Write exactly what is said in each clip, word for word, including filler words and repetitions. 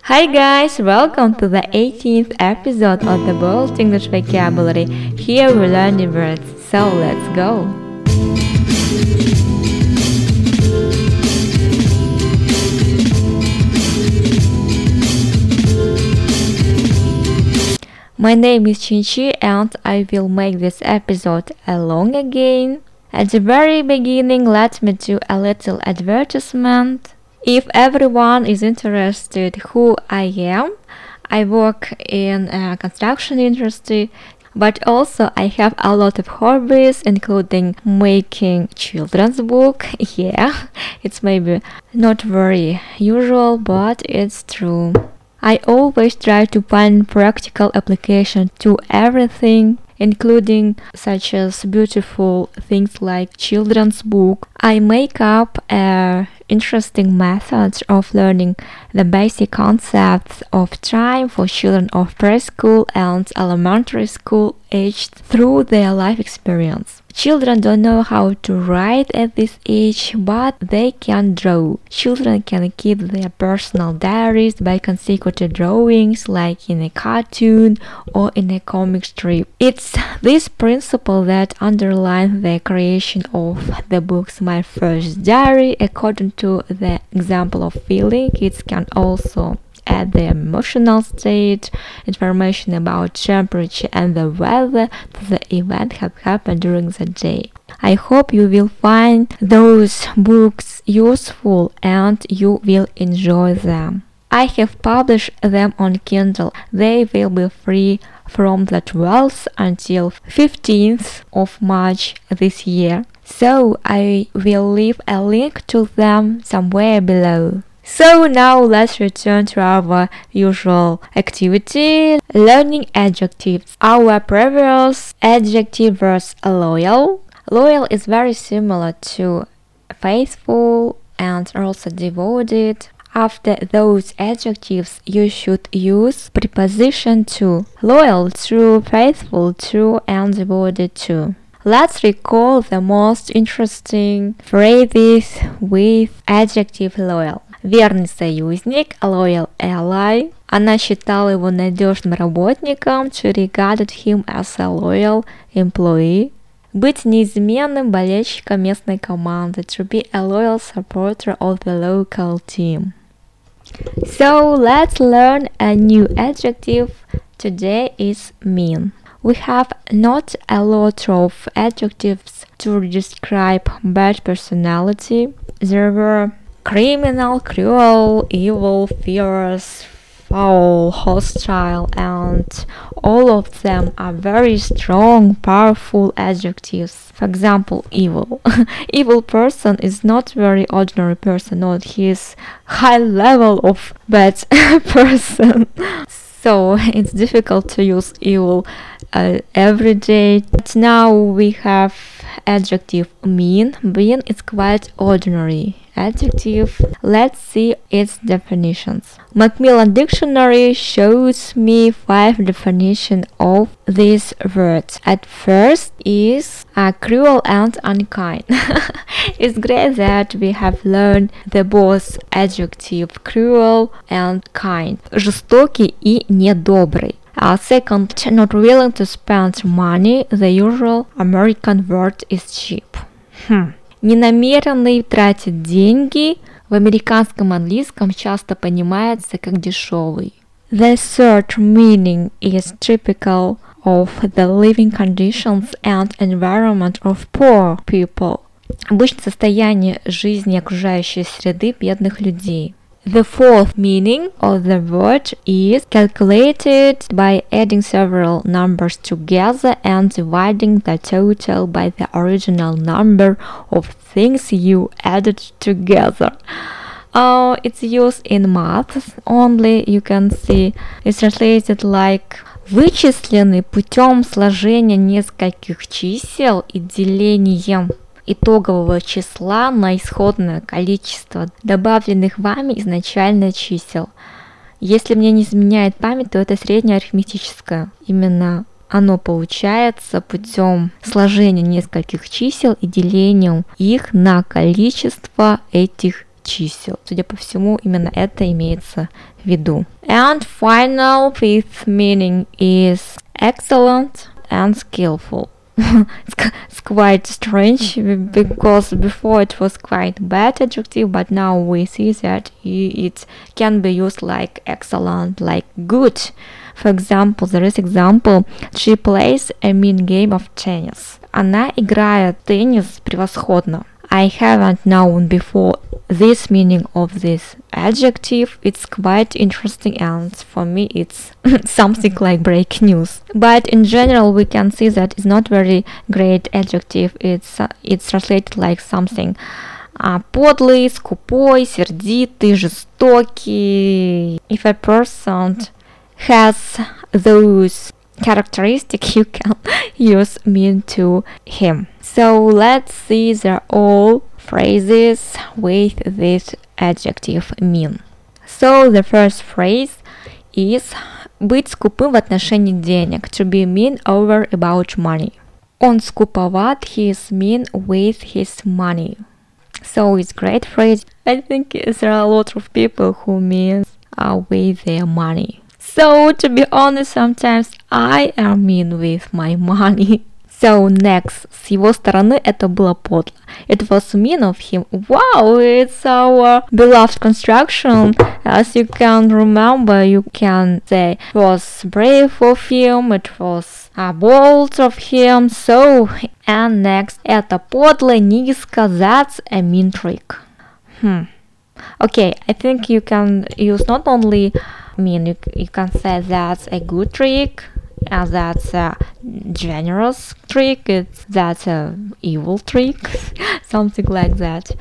Hi guys, welcome to the eighteenth episode of the Bold English Vocabulary. Here we learn the words, so let's go! My name is Chinchi and I will make this episode along again. At the very beginning, let me do a little advertisement. If everyone is interested who I am, I work in a construction industry, but also I have a lot of hobbies, including making children's book. Yeah, it's maybe not very usual, but it's true. I always try to find practical application to everything, including such as beautiful things like children's book. I make up a interesting methods of learning the basic concepts of time for children of preschool and elementary school aged through their life experience. Children don't know how to write at this age, but they can draw. Children can keep their personal diaries by consecutive drawings, like in a cartoon or in a comic strip. It's this principle that underlines the creation of the books My First Diary. According to the example of feeling, kids can also add the emotional state, information about temperature and the weather to the event have happened during the day. I hope you will find those books useful and you will enjoy them. I have published them on Kindle. They will be free from the twelfth until fifteenth of March this year. So I will leave a link to them somewhere below. So now let's return to our usual activity, learning adjectives. Our previous adjective was loyal. Loyal is very similar to faithful and also devoted. After those adjectives, you should use preposition to. Loyal, true, faithful, true, and devoted to. Let's recall the most interesting phrases with adjective loyal. Верный союзник, loyal ally. Она считала его надежным работником. She regarded him as a loyal employee. Быть неизменным болельщиком местной команды. To be a loyal supporter of the local team. So let's learn a new adjective. Today is mean. We have not a lot of adjectives to describe bad personality. There were criminal, cruel, evil, fierce, foul, hostile, and all of them are very strong, powerful adjectives. For example, evil. Evil person is not very ordinary person, not his high level of bad person. So it's difficult to use evil uh, every day. But now we have adjective mean. Mean is quite ordinary adjective. Let's see its definitions. Macmillan Dictionary shows me five definitions of this word. At first is uh, cruel and unkind. It's great that we have learned the both adjective cruel and kind. Жестокий и недобрый. Uh, second, not willing to spend money. The usual American word is cheap. Hmm. Ненамеренный тратит деньги. В американском английском часто понимается как дешевый. The third meaning is typical of the living conditions and environment of poor people. Обычное состояние жизни окружающей среды бедных людей. The fourth meaning of the word is calculated by adding several numbers together and dividing the total by the original number of things you added together. Uh, it's used in math only. You can see it's translated like вычисленный путем сложения нескольких чисел и делением итогового числа на исходное количество добавленных вами изначально чисел. Если мне не изменяет память, то это среднее арифметическое. Именно оно получается путем сложения нескольких чисел и делением их на количество этих чисел. Судя по всему, именно это имеется в виду. And final fifth meaning is excellent and skillful. It's quite strange because before it was quite bad adjective, but now we see that it can be used like excellent, like good. For example, there is example, she plays a mean game of tennis. Она играет в теннис превосходно. I haven't known before this meaning of this adjective. It's quite interesting, and for me it's something like break news. But in general we can see that it's not very great adjective. It's uh, it's translated like something uh, подлый, скупой, сердитый, жестокий. If a person has those characteristic, you can use mean to him. So let's see the all phrases with this adjective mean. So the first phrase is быть скупым в отношении денег, to be mean over about money. Он скуповат, he is mean with his money. So it's great phrase. I think there are a lot of people who mean uh, with their money. So, to be honest, sometimes I am mean with my money. So, next. С его стороны это было подло. It was mean of him. Wow, it's our beloved construction. As you can remember, you can say it was brave of him, it was uh, bold of him. So, and next. Это подло, низко, that's a mean trick. Hmm. Okay, I think you can use not only mean, you, you can say that's a good trick, and that's a generous trick, it's that's a evil trick, something like that.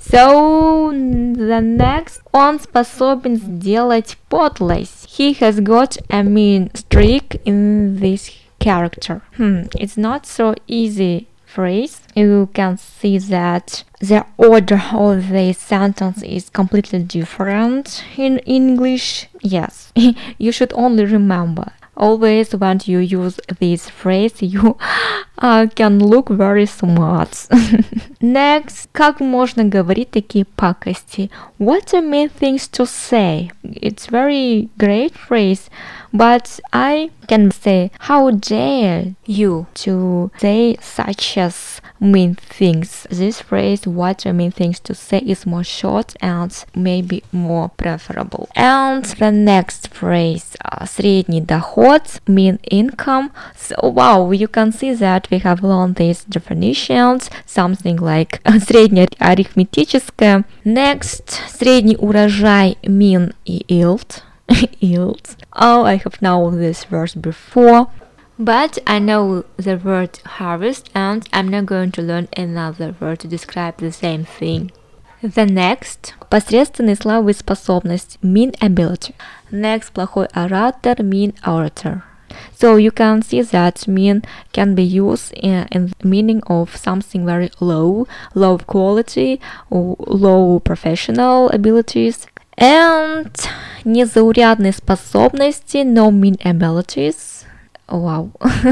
So the next, он способен сделать подлость. He has got a mean streak in this character. Hmm, it's not so easy phrase. You can see that the order of the sentence is completely different in English. Yes, you should only remember. Always when you use this phrase, you uh, can look very smart. Next, как можно говорить такие пакости? What are mean things to say? It's very great phrase, but I can say, how dare you to say such as mean things? This phrase, what are mean things to say, is more short and maybe more preferable. And the next phrase, uh, средний доход, mean income. So wow, you can see that we have learned these definitions, something like среднее арифметическое. Next, средний урожай, mean yield. Yields. Oh, I have known this verse before, but I know the word harvest, and I'm not going to learn another word to describe the same thing. The next, посредственные слова и способность, mean ability. Next, плохой оратор, mean orator. So you can see that mean can be used in, in the meaning of something very low, low quality, or low professional abilities. And незаурядные способности, no mean abilities. Вау.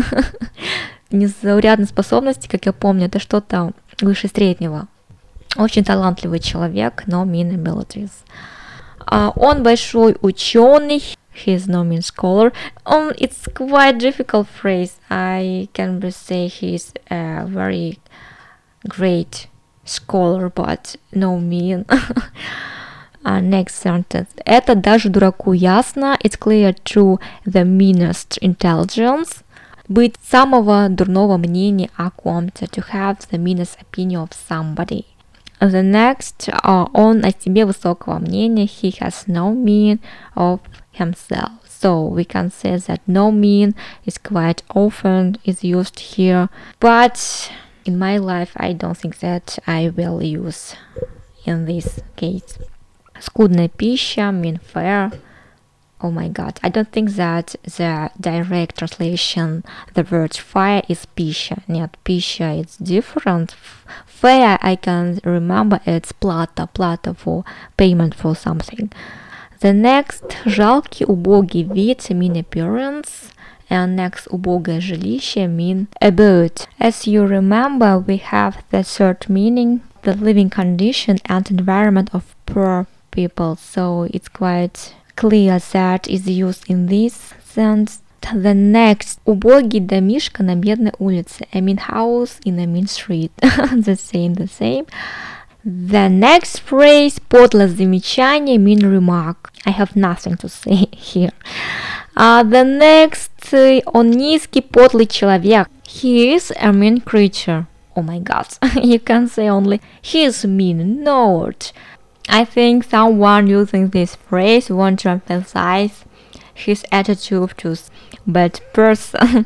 Незаурядные способности, как я помню, это что-то выше среднего. Очень талантливый человек, no mean abilities. Uh, он большой ученый, he is no mean scholar. Um, it's quite difficult phrase. I can say he is a very great scholar, but no mean. Uh, next sentence. Это даже дураку ясно. It's clear to the meanest intelligence. Быть самого дурного мнения о ком-то. To have the meanest opinion of somebody. The next. Uh, он о себе высокого мнения. He has no mean of himself. So we can say that no mean is quite often is used here. But in my life I don't think that I will use in this case. Скудная пища, mean fare. Oh my god, I don't think that the direct translation, the word fare is пища. Нет, пища, it's different. Fare, I can remember, it's плата, плата for payment for something. The next, жалкий, убогий вид, mean appearance. And next, убогое жилище, mean abode. As you remember, we have the third meaning, the living condition and environment of poor people. So it's quite clear that is used in this sense. The next, убогий домишко на бедной улице. I mean house in a mean street. The same, the same. The next phrase, подлое замечание, mean remark. I have nothing to say here. Uh, the next, uh, он низкий, подлый человек. He is a mean creature. Oh my god, you can say only he is mean. No. I think someone using this phrase want to emphasize his attitude to bad person.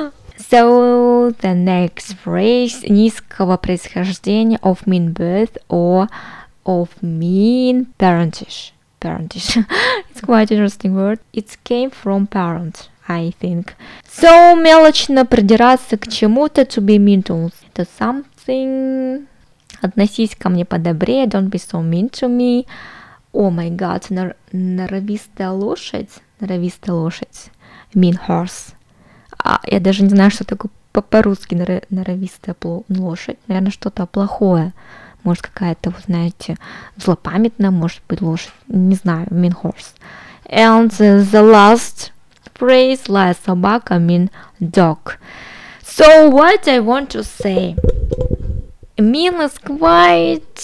So the next phrase, низкого происхождения, of mean birth or of mean parentage. Parentage. It's quite interesting word. It came from parent, I think. So мелочно придираться к чему-то, to be mean to, to something. Относись ко мне подобрее, don't be so mean to me. Oh my god, нор- норовистая лошадь. Норовистая лошадь. Mean horse. А, я даже не знаю, что такое по-русски нор- норовистая пло- лошадь. Наверное, что-то плохое. Может, какая-то, вы знаете, злопамятная, может быть, лошадь. Не знаю, mean horse. And uh, the last phrase, злая собака, mean dog. So what I want to say? Mean is quite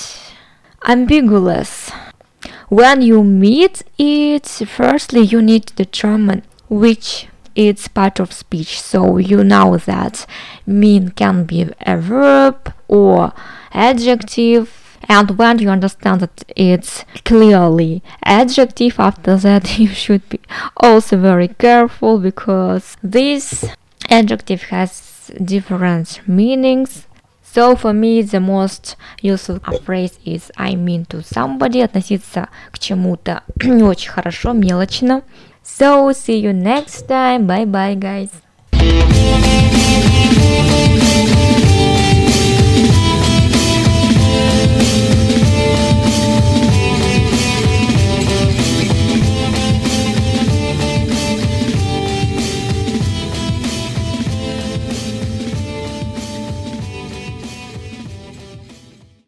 ambiguous. When you meet it, firstly you need to determine which is part of speech. So you know that mean can be a verb or adjective. And when you understand that it's clearly adjective, after that you should be also very careful, because this adjective has different meanings. So for me the most useful phrase is I mean to somebody. Относиться к чему-то не очень хорошо, мелочно. So see you next time. Bye bye, guys.